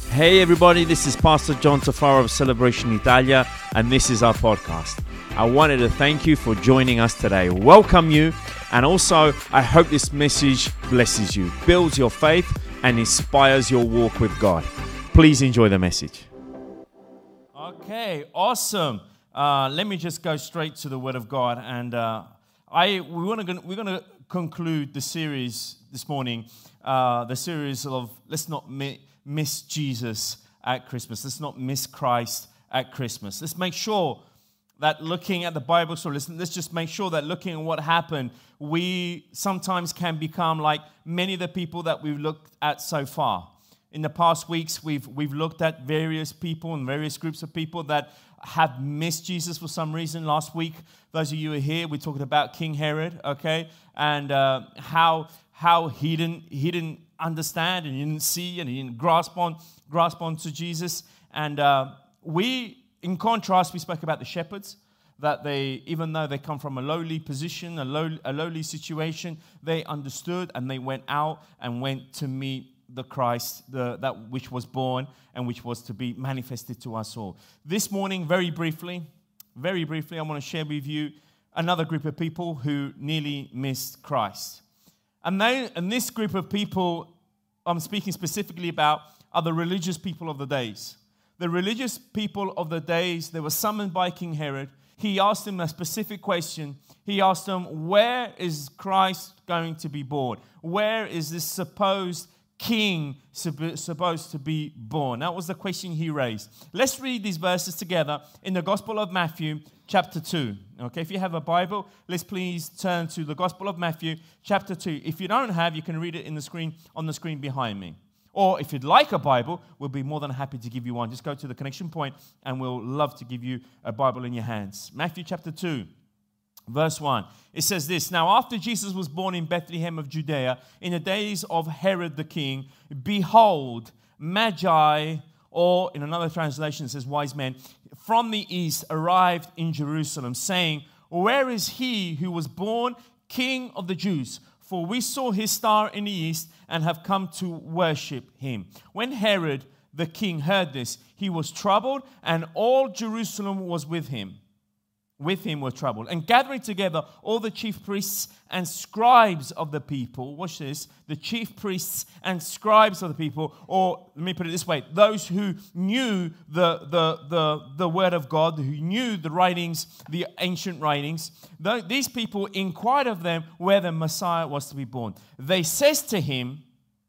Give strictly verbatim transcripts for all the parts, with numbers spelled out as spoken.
Hey everybody, this is Pastor John Tafaro of Celebration Italia, and this is our podcast. I wanted to thank you for joining us today, welcome you, and also I hope this message blesses you, builds your faith, and inspires your walk with God. Please enjoy the message. Okay, awesome. Uh, let me just go straight to the Word of God, and uh, I we want to we're going to conclude the series this morning, uh, the series of Let's Not Mi- Miss Jesus at Christmas. Let's not miss Christ at Christmas. Let's make sure that looking at the Bible story, let's, let's just make sure that looking at what happened, we sometimes can become like many of the people that we've looked at so far. In the past weeks, we've we've looked at various people and various groups of people that have missed Jesus for some reason. Last week, those of you who are here, we talked about King Herod, okay, and uh, how how he didn't he didn't understand and he didn't see and he didn't grasp on grasp onto Jesus. And uh, we, in contrast, we spoke about the shepherds. That they, even though they come from a lowly position, a low a lowly situation, they understood and they went out and went to meet the Christ, the, that which was born and which was to be manifested to us all. This morning, very briefly, very briefly, I want to share with you another group of people who nearly missed Christ. And, they, and this group of people I'm speaking specifically about are the religious people of the days. The religious people of the days, they were summoned by King Herod. He asked them a specific question. He asked them, where is Christ going to be born? Where is this supposed king supposed to be born? That was the question he raised. Let's read these verses together in the Gospel of Matthew, chapter two. Okay, if you have a Bible, let's please turn to the Gospel of Matthew, chapter two. If you don't have, you can read it in the screen on the screen behind me. Or if you'd like a Bible, we'll be more than happy to give you one. Just go to the connection point and we'll love to give you a Bible in your hands. Matthew chapter two. Verse one, it says this, Now after Jesus was born in Bethlehem of Judea, in the days of Herod the king, behold, Magi, or in another translation it says wise men, from the east arrived in Jerusalem, saying, Where is he who was born King of the Jews? For we saw his star in the east and have come to worship him. When Herod the king heard this, he was troubled, and all Jerusalem was with him. With him were troubled. And gathering together all the chief priests and scribes of the people. Watch this. The chief priests and scribes of the people, or let me put it this way, those who knew the, the, the, the word of God, who knew the writings, the ancient writings, these people inquired of them where the Messiah was to be born. They says to him,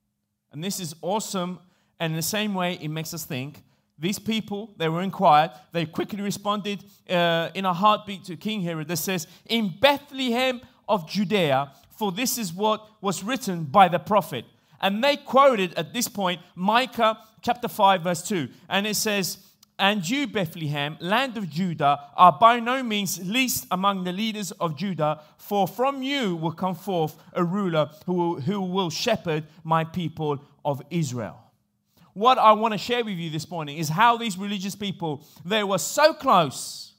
and this is awesome, and in the same way it makes us think, these people, they were inquired, they quickly responded uh, in a heartbeat to King Herod that says, in Bethlehem of Judea, for this is what was written by the prophet. And they quoted at this point Micah chapter five verse two. And it says, And you, Bethlehem, land of Judah, are by no means least among the leaders of Judah, for from you will come forth a ruler who will, who will shepherd my people of Israel. What I want to share with you this morning is how these religious people, they were so close,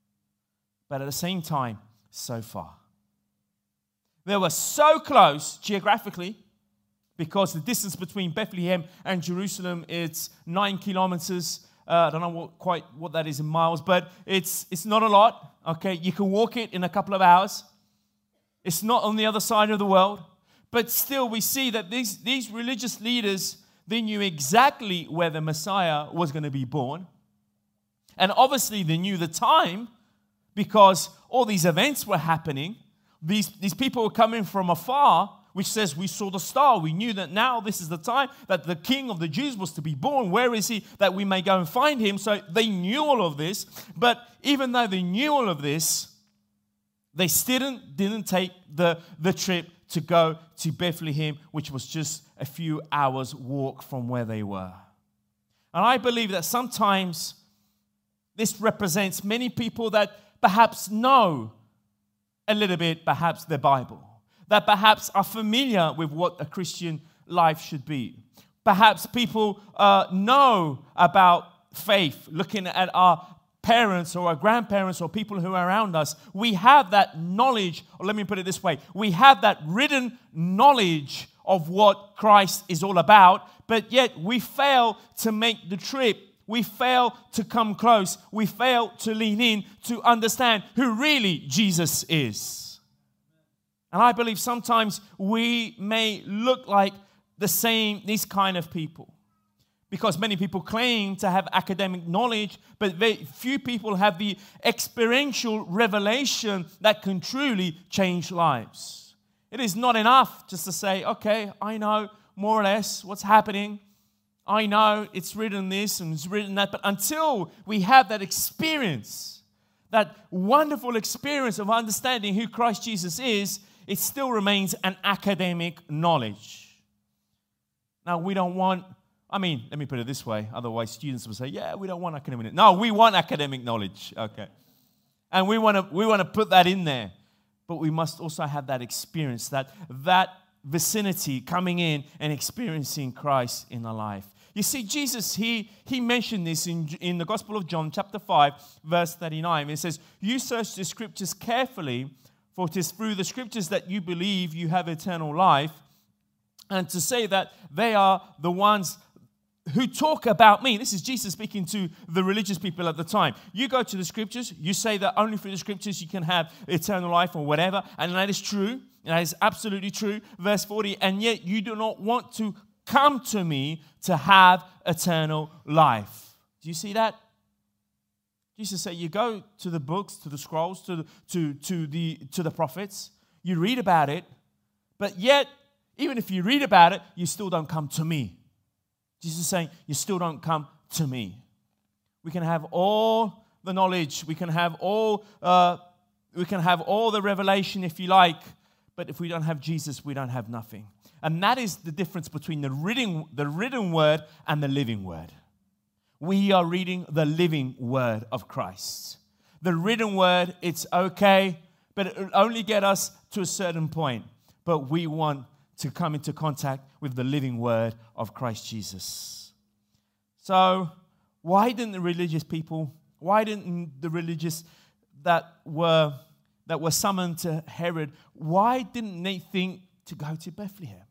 but at the same time, so far. They were so close geographically, because the distance between Bethlehem and Jerusalem, it's nine kilometers. Uh, I don't know what, quite what that is in miles, but it's it's not a lot. Okay, you can walk it in a couple of hours. It's not on the other side of the world, but still we see that these these religious leaders, they knew exactly where the Messiah was going to be born. And obviously they knew the time because all these events were happening. These, these people were coming from afar, which says we saw the star. We knew that now this is the time that the King of the Jews was to be born. Where is he that we may go and find him? So they knew all of this. But even though they knew all of this, they still didn't, didn't take the, the trip to go to Bethlehem, which was just a few hours walk from where they were. And I believe that sometimes this represents many people that perhaps know a little bit, perhaps the Bible, that perhaps are familiar with what a Christian life should be. Perhaps people uh, know about faith, looking at our parents or our grandparents or people who are around us. We have that knowledge, or let me put it this way, we have that written knowledge of what Christ is all about, but yet we fail to make the trip. We fail to come close. We fail to lean in to understand who really Jesus is. And I believe sometimes we may look like the same, these kind of people. Because many people claim to have academic knowledge, but very few people have the experiential revelation that can truly change lives. It is not enough just to say, okay, I know more or less what's happening. I know it's written this and it's written that. But until we have that experience, that wonderful experience of understanding who Christ Jesus is, it still remains an academic knowledge. Now, we don't want... I mean, let me put it this way. Otherwise, students will say, yeah, we don't want academic knowledge. No, we want academic knowledge. Okay. And we want to we want to put that in there. But we must also have that experience, that, that vicinity coming in and experiencing Christ in our life. You see, Jesus, he, he mentioned this in, in the Gospel of John, chapter five, verse thirty-nine. It says, you search the scriptures carefully, for it is through the scriptures that you believe you have eternal life. And to say that they are the ones who talk about me. This is Jesus speaking to the religious people at the time. You go to the scriptures, you say that only through the scriptures you can have eternal life or whatever, and that is true, and that is absolutely true. Verse forty, and yet you do not want to come to me to have eternal life. Do you see that? Jesus said, you go to the books, to the scrolls, to the, to, to the, to the prophets, you read about it, but yet, even if you read about it, you still don't come to me. Jesus is saying, you still don't come to me. We can have all the knowledge. We can have all uh, we can have all the revelation, if you like. But if we don't have Jesus, we don't have nothing. And that is the difference between the written, the written word and the living word. We are reading the living word of Christ. The written word, it's okay, but it will only get us to a certain point. But we want to come into contact with the living word of Christ Jesus. So, why didn't the religious people, why didn't the religious that were that were summoned to Herod, why didn't they think to go to Bethlehem?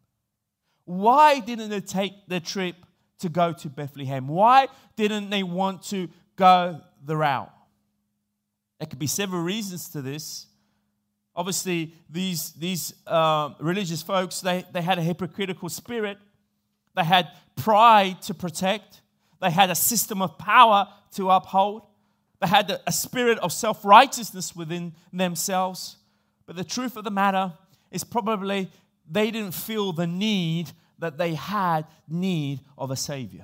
Why didn't they take the trip to go to Bethlehem? Why didn't they want to go the route? There could be several reasons to this. Obviously, these, these uh, religious folks, they, they had a hypocritical spirit. They had pride to protect. They had a system of power to uphold. They had a, a spirit of self-righteousness within themselves. But the truth of the matter is probably they didn't feel the need that they had need of a Savior.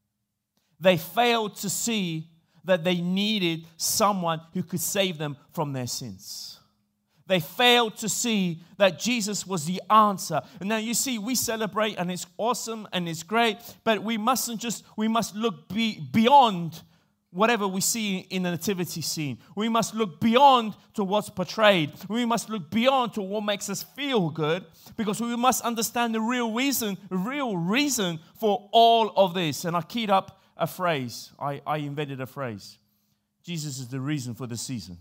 They failed to see that they needed someone who could save them from their sins. They failed to see that Jesus was the answer. And now you see, we celebrate and it's awesome and it's great, but we mustn't just, we must look be, beyond whatever we see in the nativity scene. We must look beyond to what's portrayed. We must look beyond to what makes us feel good, because we must understand the real reason, real reason for all of this. And I keyed up a phrase. I, I invented a phrase. Jesus is the reason for the season.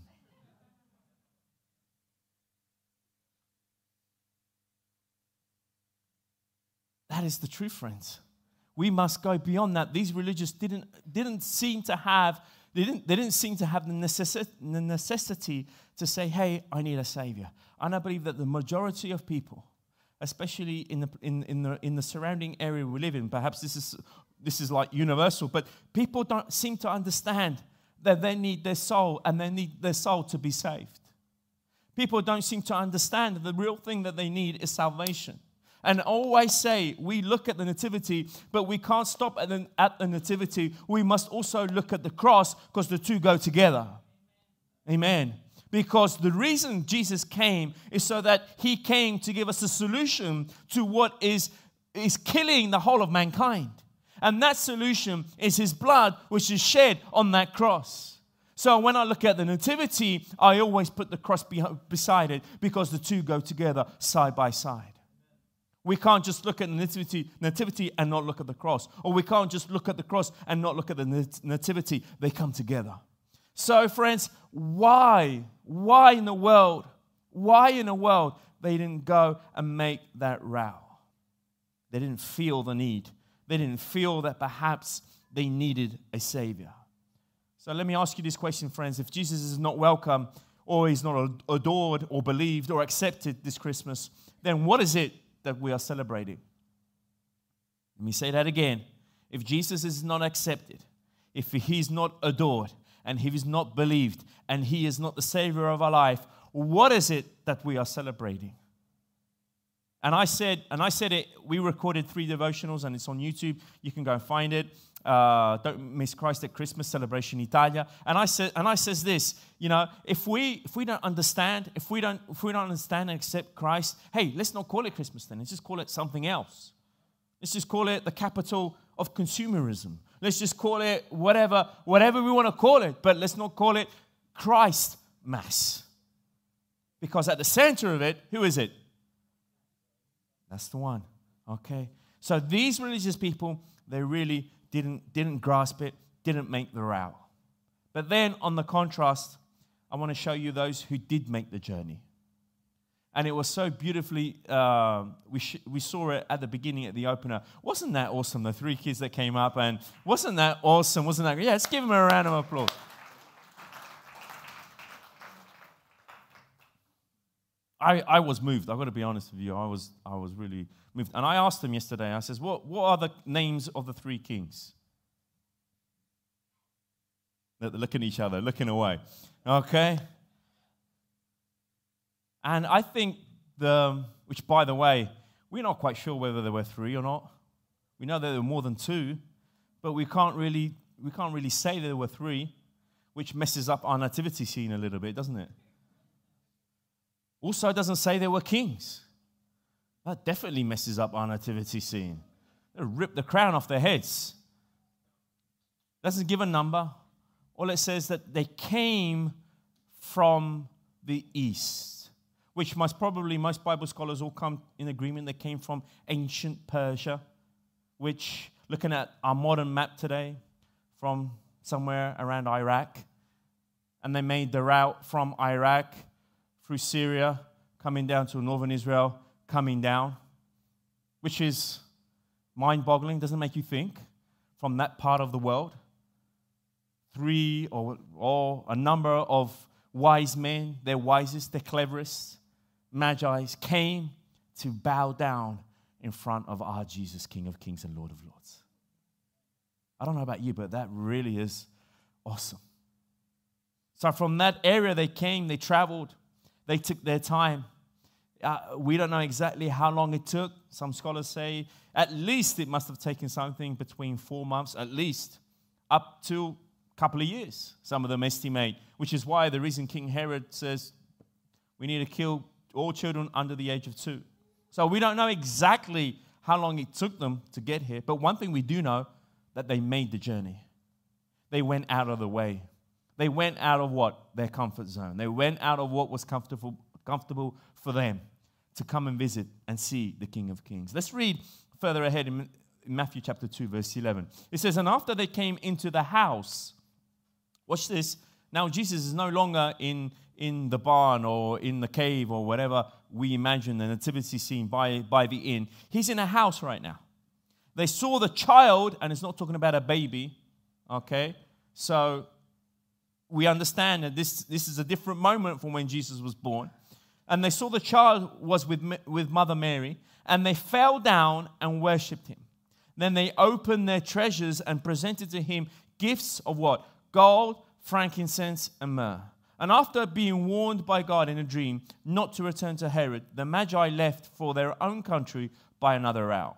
That is the truth, friends. We must go beyond that. These religious didn't didn't seem to have they didn't they didn't seem to have the necessity, the necessity to say, "Hey, I need a savior." And I believe that the majority of people, especially in the in, in the in the surrounding area we live in, perhaps this is this is like universal, but people don't seem to understand that they need their soul and they need their soul to be saved. People don't seem to understand that the real thing that they need is salvation. And I always say, we look at the nativity, but we can't stop at the, at the nativity. We must also look at the cross, because the two go together. Amen. Because the reason Jesus came is so that he came to give us a solution to what is, is killing the whole of mankind. And that solution is his blood, which is shed on that cross. So when I look at the nativity, I always put the cross beside it, because the two go together side by side. We can't just look at the nativity, nativity and not look at the cross. Or we can't just look at the cross and not look at the nativity. They come together. So, friends, why? Why in the world? Why in the world they didn't go and make that route? They didn't feel the need. They didn't feel that perhaps they needed a Savior. So let me ask you this question, friends. If Jesus is not welcome, or he's not adored or believed or accepted this Christmas, then what is it that we are celebrating? Let me say that again. If Jesus is not accepted, if he's not adored, and he is not believed, and he is not the Savior of our life, what is it that we are celebrating? And I said, and I said it, we recorded three devotionals, and it's on YouTube. You can go and find it. Uh, Don't Miss Christ at Christmas, Celebration Italia. And I said, and I says this, you know, if we if we don't understand, if we don't if we don't understand and accept Christ, hey, let's not call it Christmas then. Let's just call it something else. Let's just call it the capital of consumerism. Let's just call it whatever whatever we want to call it, but let's not call it Christ Mass. Because at the center of it, who is it? That's the one. Okay. So these religious people, they really didn't didn't grasp it, didn't make the route. But then on the contrast, I want to show you those who did make the journey. And it was so beautifully, uh, we sh- we saw it at the beginning, at the opener. Wasn't that awesome? The three kids that came up, and wasn't that awesome? Wasn't that? Yeah, let's give them a round of applause. I, I was moved. I've got to be honest with you. I was I was really moved. And I asked them yesterday, I says, what, what are the names of the three kings? They're looking at each other, looking away. Okay. And I think, the, which by the way, we're not quite sure whether there were three or not. We know there were more than two, but we can't really we can't really say there were three, which messes up our nativity scene a little bit, doesn't it? Also, it doesn't say there were kings. That definitely messes up our nativity scene. They rip the crown off their heads. Doesn't give a number. All it says that they came from the east, which most probably most Bible scholars all come in agreement. They came from ancient Persia, which, looking at our modern map today, from somewhere around Iraq, and they made the route from Iraq through Syria, coming down to northern Israel, coming down, which is mind-boggling, doesn't make you think, from that part of the world. Three or, or a number of wise men, their wisest, their cleverest, Magi's, came to bow down in front of our Jesus, King of Kings and Lord of Lords. I don't know about you, but that really is awesome. So from that area they came, they traveled, they took their time. Uh, we don't know exactly how long it took. Some scholars say at least it must have taken something between four months, at least, up to a couple of years, some of them estimate, which is why the reason King Herod says we need to kill all children under the age of two. So we don't know exactly how long it took them to get here, but one thing we do know, that they made the journey. They went out of the way. They went out of what? Their comfort zone. They went out of what was comfortable, comfortable for them to come and visit and see the King of Kings. Let's read further ahead in Matthew chapter two, verse eleven. It says, and after they came into the house, watch this, now Jesus is no longer in, in the barn or in the cave or whatever we imagine the nativity scene by, by the inn. He's in a house right now. They saw the child, and it's not talking about a baby, okay? So we understand that this, this is a different moment from when Jesus was born. And they saw the child was with, with Mother Mary, and they fell down and worshipped him. Then they opened their treasures and presented to him gifts of what? Gold, frankincense, and myrrh. And after being warned by God in a dream not to return to Herod, the Magi left for their own country by another route.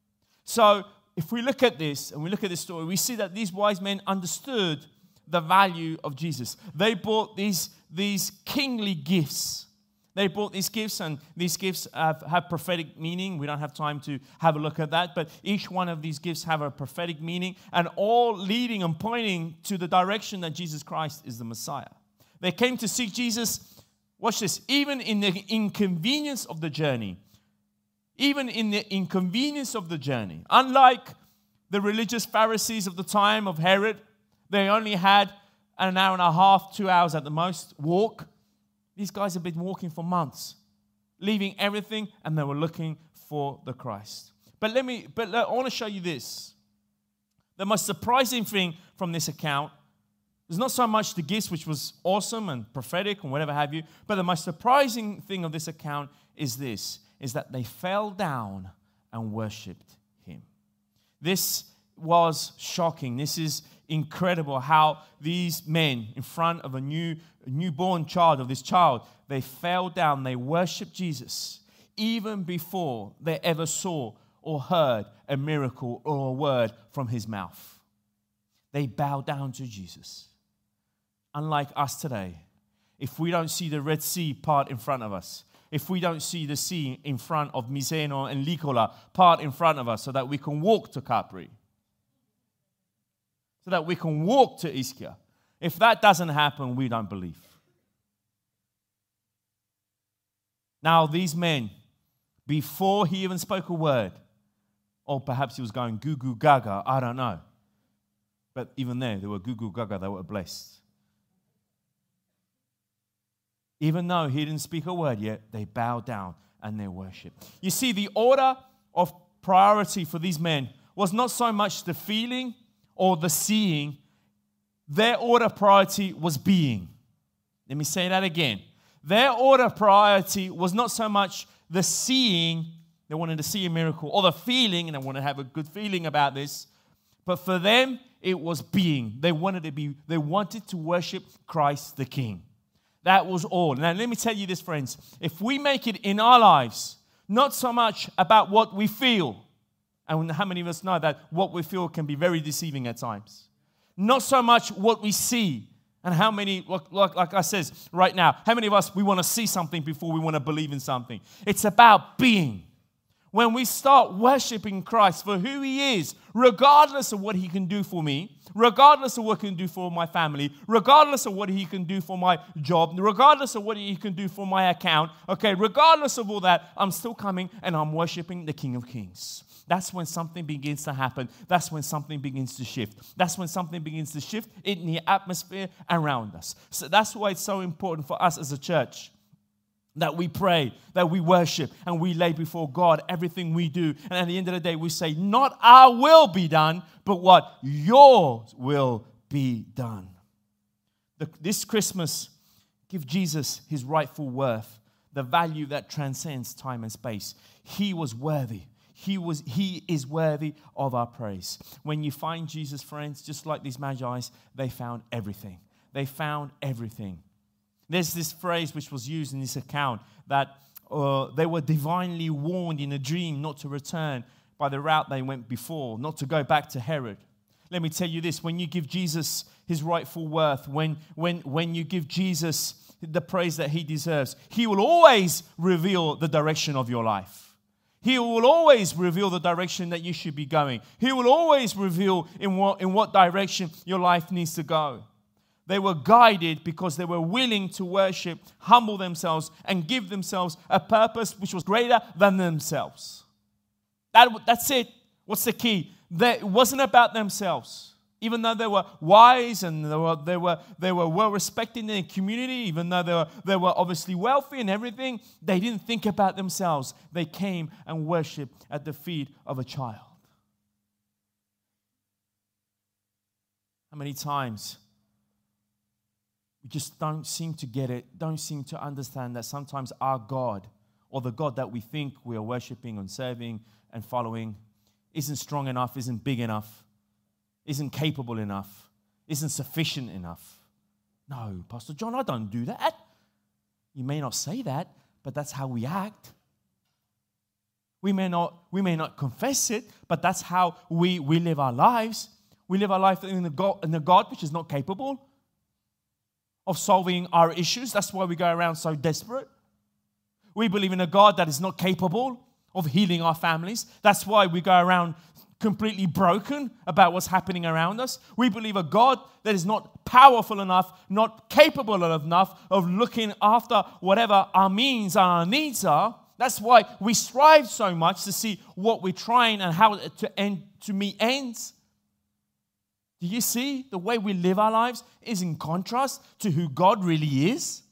So if we look at this, and we look at this story, we see that these wise men understood the value of Jesus. They brought these, these kingly gifts. They brought these gifts, and these gifts have, have prophetic meaning. We don't have time to have a look at that, but each one of these gifts have a prophetic meaning, and all leading and pointing to the direction that Jesus Christ is the Messiah. They came to seek Jesus, watch this, even in the inconvenience of the journey. Even in the inconvenience of the journey. Unlike the religious Pharisees of the time of Herod, they only had an hour and a half, two hours at the most walk. These guys have been walking for months, leaving everything, and they were looking for the Christ. But let me, but let, I want to show you this. The most surprising thing from this account is not so much the gifts, which was awesome and prophetic and whatever have you, but the most surprising thing of this account is this, is that they fell down and worshipped him. This was shocking. This is incredible how these men in front of a new a newborn child, of this child, they fell down, they worshipped Jesus even before they ever saw or heard a miracle or a word from his mouth. They bowed down to Jesus. Unlike us today, if we don't see the Red Sea part in front of us, if we don't see the sea in front of Miseno and Likola part in front of us so that we can walk to Capri, so that we can walk to Ischia. If that doesn't happen, we don't believe. Now, these men, before he even spoke a word, or perhaps he was going goo goo gaga, I don't know. But even there, they were goo goo gaga, they were blessed. Even though he didn't speak a word yet, they bowed down and they worshiped. You see, the order of priority for these men was not so much the feeling or the seeing. Their order of priority was being. Let me say that again. Their order of priority was not so much the seeing, they wanted to see a miracle, or the feeling, and they wanted to have a good feeling about this, but for them, it was being. They wanted to be, they wanted to worship Christ the King. That was all. Now, let me tell you this, friends. If we make it in our lives, not so much about what we feel, and how many of us know that what we feel can be very deceiving at times. Not so much what we see, and how many, like, like, like I says right now, how many of us, we want to see something before we want to believe in something. It's about being. When we start worshiping Christ for who he is, regardless of what he can do for me, regardless of what he can do for my family, regardless of what he can do for my job, regardless of what he can do for my account, okay, regardless of all that, I'm still coming and I'm worshiping the King of Kings. That's when something begins to happen. That's when something begins to shift. That's when something begins to shift in the atmosphere around us. So that's why it's so important for us as a church that we pray, that we worship, and we lay before God everything we do. And at the end of the day, we say, not our will be done, but what? Yours will be done. The, this Christmas, give Jesus his rightful worth, the value that transcends time and space. He was worthy. He was. He is worthy of our praise. When you find Jesus, friends, just like these magi, they found everything. They found everything. There's this phrase which was used in this account that uh, they were divinely warned in a dream not to return by the route they went before, not to go back to Herod. Let me tell you this, when you give Jesus his rightful worth, when, when, when you give Jesus the praise that he deserves, he will always reveal the direction of your life. He will always reveal the direction that you should be going. He will always reveal in what, in what direction your life needs to go. They were guided because they were willing to worship, humble themselves, and give themselves a purpose which was greater than themselves. That, that's it. What's the key? They, it wasn't about themselves. Even though they were wise and they were, they were, they were well respected in their community, even though they were, they were obviously wealthy and everything, they didn't think about themselves. They came and worshipped at the feet of a child. How many times we just don't seem to get it, don't seem to understand that sometimes our God, or the God that we think we are worshiping and serving and following, isn't strong enough, isn't big enough, isn't capable enough, isn't sufficient enough. No, Pastor John, I don't do that. You may not say that, but that's how we act. We may not, we may not confess it, but that's how we, we live our lives. We live our life in a God, in a God which is not capable of solving our issues. That's why we go around so desperate. We believe in a God that is not capable of healing our families. That's why we go around completely broken about what's happening around us. We believe a God that is not powerful enough, not capable enough of looking after whatever our means and our needs are. That's why we strive so much to see what we're trying and how to end to meet ends. Do you see the way we live our lives is in contrast to who God really is?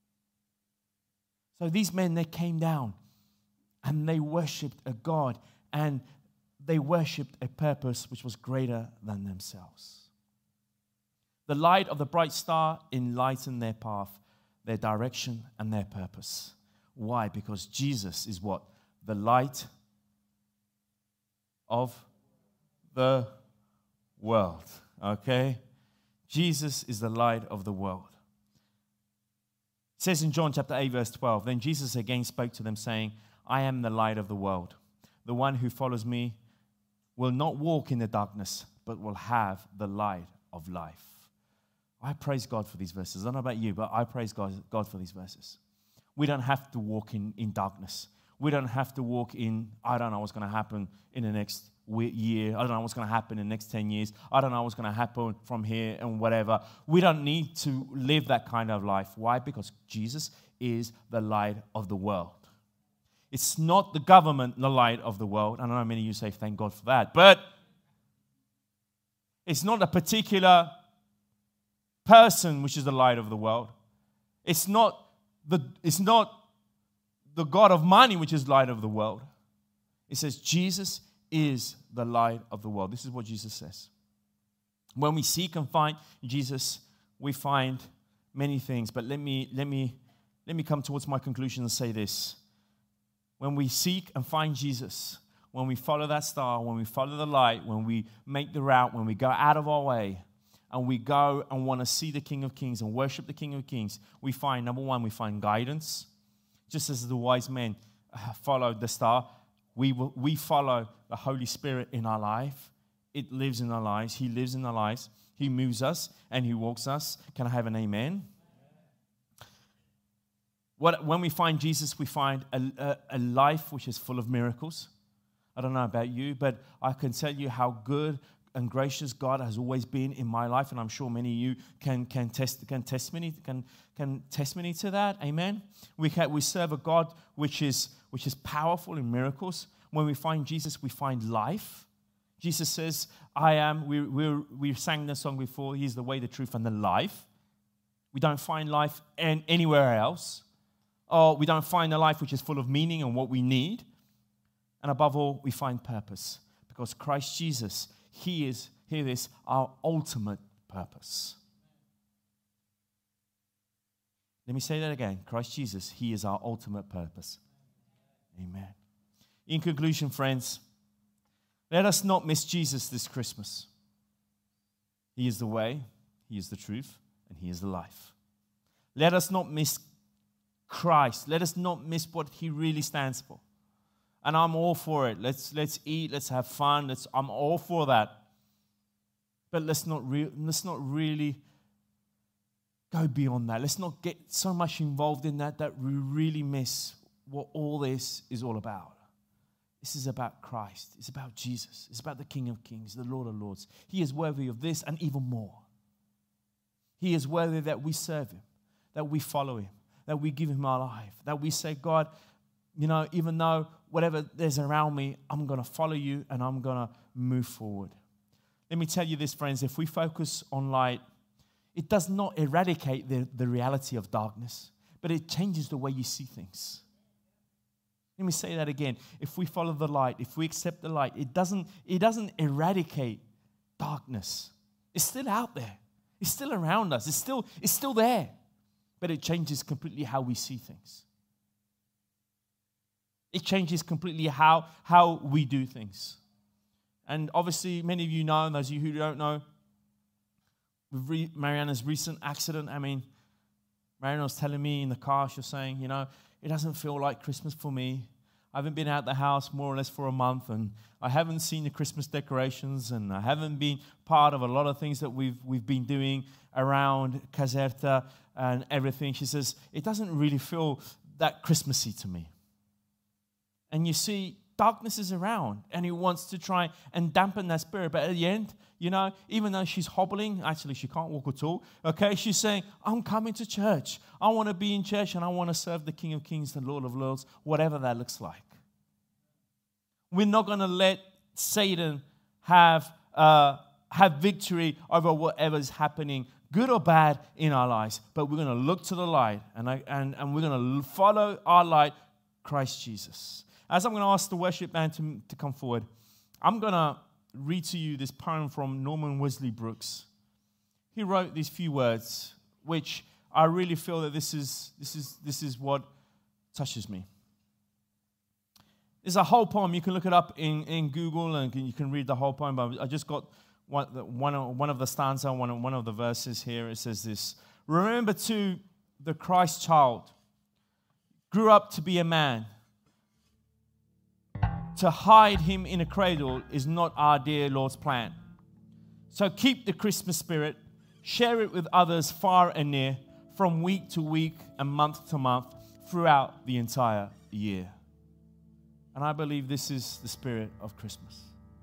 So these men, they came down and they worshipped a God and they worshipped a purpose which was greater than themselves. The light of the bright star enlightened their path, their direction, and their purpose. Why? Because Jesus is what? The light of the world. Okay? Jesus is the light of the world. It says in John chapter eight, verse twelve, then Jesus again spoke to them, saying, I am the light of the world. The one who follows me will not walk in the darkness, but will have the light of life. I praise God for these verses. I don't know about you, but I praise God, God for these verses. We don't have to walk in, in darkness. We don't have to walk in, I don't know what's going to happen in the next year. I don't know what's going to happen in the next ten years. I don't know what's going to happen from here and whatever. We don't need to live that kind of life. Why? Because Jesus is the light of the world. It's not the government, the light of the world. I know many of you say, thank God for that. But it's not a particular person which is the light of the world. It's not the, it's not the God of money which is light of the world. It says Jesus is the light of the world. This is what Jesus says. When we seek and find Jesus, we find many things. But let me, let me, let me come towards my conclusion and say this. When we seek and find Jesus, when we follow that star, when we follow the light, when we make the route, when we go out of our way, and we go and want to see the King of Kings and worship the King of Kings, we find, number one, we find guidance. Just as the wise men followed the star, we will, we follow the Holy Spirit in our life. It lives in our lives. He lives in our lives. He moves us and He walks us. Can I have an amen? What, when we find Jesus, we find a, a, a life which is full of miracles. I don't know about you, but I can tell you how good and gracious God has always been in my life, and I'm sure many of you can can test can testimony can can testimony to that. Amen. We can, we serve a God which is which is powerful in miracles. When we find Jesus, we find life. Jesus says, "I am." We we we sang this song before. He's the way, the truth, and the life. We don't find life in, anywhere else, or we don't find a life which is full of meaning and what we need. And above all, we find purpose because Christ Jesus. He is, hear this, our ultimate purpose. Let me say that again. Christ Jesus, He is our ultimate purpose. Amen. In conclusion, friends, let us not miss Jesus this Christmas. He is the way, He is the truth, and He is the life. Let us not miss Christ. Let us not miss what He really stands for. And I'm all for it. Let's let's eat. Let's have fun. Let's. I'm all for that. But let's not re- let's not really go beyond that. Let's not get so much involved in that that we really miss what all this is all about. This is about Christ. It's about Jesus. It's about the King of Kings, the Lord of Lords. He is worthy of this and even more. He is worthy that we serve Him, that we follow Him, that we give Him our life, that we say, God, you know, even though whatever there's around me, I'm going to follow You and I'm going to move forward. Let me tell you this, friends. If we focus on light, it does not eradicate the, the reality of darkness, but it changes the way you see things. Let me say that again. If we follow the light, if we accept the light, it doesn't, it doesn't eradicate darkness. It's still out there. It's still around us. It's still, it's still there. But it changes completely how we see things. It changes completely how, how we do things. And obviously, many of you know, and those of you who don't know, with re- Mariana's recent accident, I mean, Mariana was telling me in the car, she was saying, you know, it doesn't feel like Christmas for me. I haven't been out the house more or less for a month, and I haven't seen the Christmas decorations, and I haven't been part of a lot of things that we've we've been doing around Caserta and everything. She says, it doesn't really feel that Christmassy to me. And you see, darkness is around, and it wants to try and dampen that spirit. But at the end, you know, even though she's hobbling, actually she can't walk at all, okay, she's saying, I'm coming to church. I want to be in church, and I want to serve the King of Kings, the Lord of Lords, whatever that looks like. We're not going to let Satan have uh, have victory over whatever is happening, good or bad, in our lives. But we're going to look to the light, and, I, and, and we're going to follow our light, Christ Jesus. as I'm going to ask the worship band to, to come forward, I'm going to read to you this poem from Norman Wesley Brooks. He wrote these few words, which I really feel that this is this is this is what touches me. There's a whole poem. You can look it up in, in Google and you can read the whole poem. But I just got one, one, of, one of the stanza, one of, one of the verses here. It says this: remember too, the Christ child grew up to be a man. To hide him in a cradle is not our dear Lord's plan. So keep the Christmas spirit, share it with others far and near, from week to week and month to month, throughout the entire year. And I believe this is the spirit of Christmas.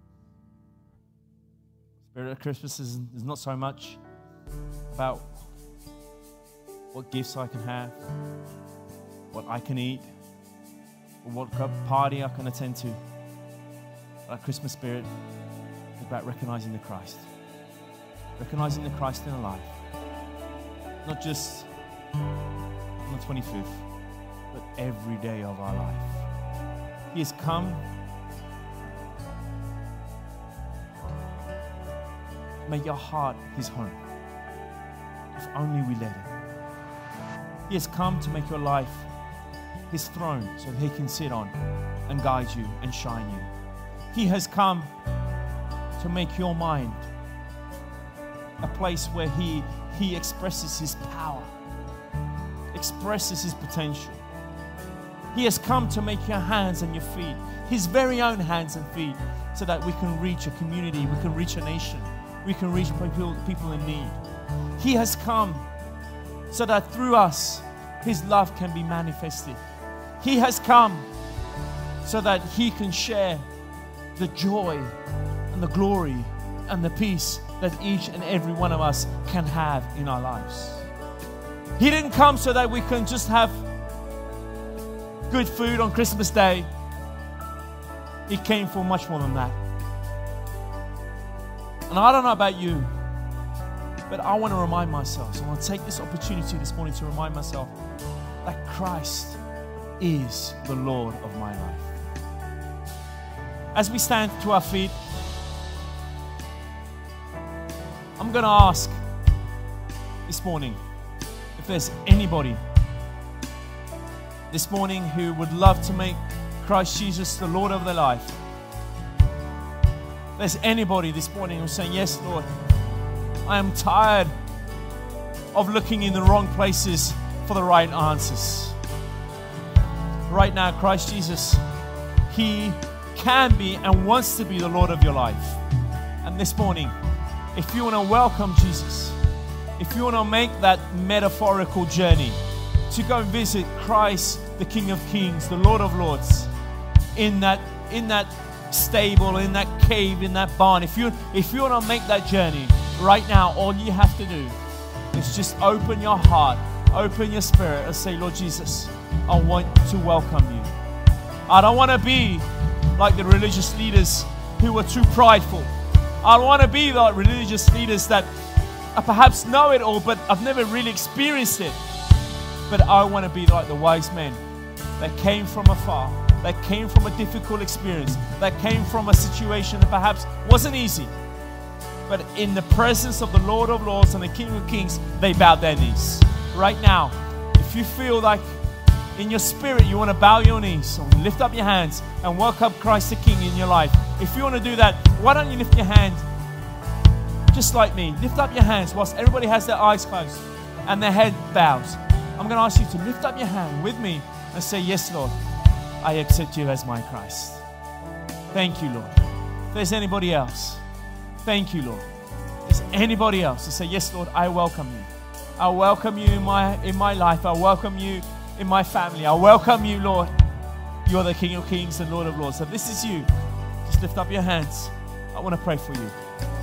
The spirit of Christmas is, is not so much about what gifts I can have, what I can eat, or what party I can attend to. But our Christmas spirit is about recognizing the Christ. Recognizing the Christ in our life. Not just on the twenty-fifth, but every day of our life. He has come to make your heart his home, if only we let him. He has come to make your life his throne so that he can sit on and guide you and shine you. He has come to make your mind a place where he, he expresses his power, expresses his potential. He has come to make your hands and your feet his very own hands and feet so that we can reach a community, we can reach a nation, we can reach people, people in need. He has come so that through us, his love can be manifested. He has come so that he can share the joy and the glory and the peace that each and every one of us can have in our lives. He didn't come so that we can just have good food on Christmas Day. He came for much more than that. And I don't know about you, but I want to remind myself, so I want to take this opportunity this morning to remind myself that Christ is the Lord of my life. As we stand to our feet, I'm going to ask this morning if there's anybody this morning who would love to make Christ Jesus the Lord of their life. If there's anybody this morning who's saying, yes, Lord, I am tired of looking in the wrong places for the right answers. Right now, Christ Jesus, he can be and wants to be the Lord of your life. And this morning, if you want to welcome Jesus, if you want to make that metaphorical journey to go and visit Christ, the King of Kings, the Lord of Lords, in that in that stable, in that cave, in that barn, if you if you want to make that journey right now, all you have to do is just open your heart, open your spirit, and say, Lord Jesus, I want to welcome you. I don't want to be like the religious leaders who were too prideful. I don't want to be like religious leaders that I perhaps know it all, but I've never really experienced it. But I want to be like the wise men that came from afar, that came from a difficult experience, that came from a situation that perhaps wasn't easy. But in the presence of the Lord of Lords and the King of Kings, they bowed their knees. Right now, if you feel like in your spirit you want to bow your knees, so lift up your hands and welcome Christ the King in your life. If you want to do that, why don't you lift your hand just like me? Lift up your hands whilst everybody has their eyes closed and their head bows. I'm going to ask you to lift up your hand with me and say, yes, Lord, I accept you as my Christ. Thank you, Lord. If there's anybody else, thank you, Lord. If there's anybody else to say, yes, Lord, I welcome you. I welcome you in my, in my life. I welcome you in my family. I welcome you, Lord. You're the King of Kings and Lord of Lords. So if this is you, just lift up your hands. I want to pray for you.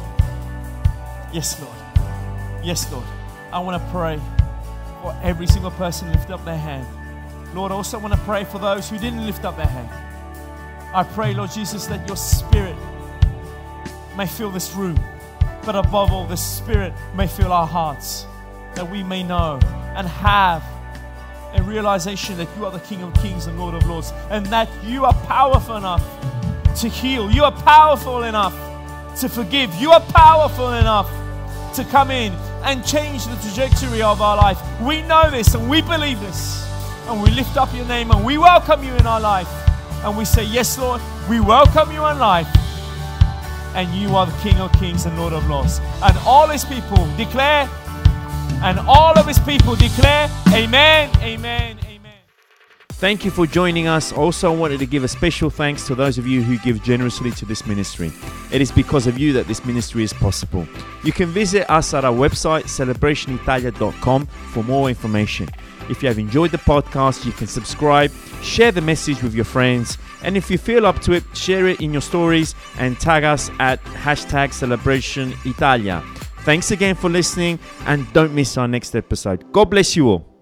Yes, Lord. Yes, Lord. I want to pray for every single person lift up their hand. Lord, I also want to pray for those who didn't lift up their hand. I pray, Lord Jesus, that your Spirit may fill this room, but above all, the Spirit may fill our hearts, that we may know and have a realization that you are the King of Kings and Lord of Lords, and that you are powerful enough to heal. You are powerful enough to forgive. You are powerful enough to come in and change the trajectory of our life. We know this and we believe this, and we lift up your name and we welcome you in our life, and we say, yes, Lord, we welcome you in life, and you are the King of Kings and Lord of Lords. And all his people declare, and all of his people declare, amen, amen, amen. Thank you for joining us. Also, I wanted to give a special thanks to those of you who give generously to this ministry. It is because of you that this ministry is possible. You can visit us at our website, celebration italia dot com, for more information. If you have enjoyed the podcast, you can subscribe, share the message with your friends, and if you feel up to it, share it in your stories and tag us at hashtag Celebration Italia. Thanks again for listening, and don't miss our next episode. God bless you all.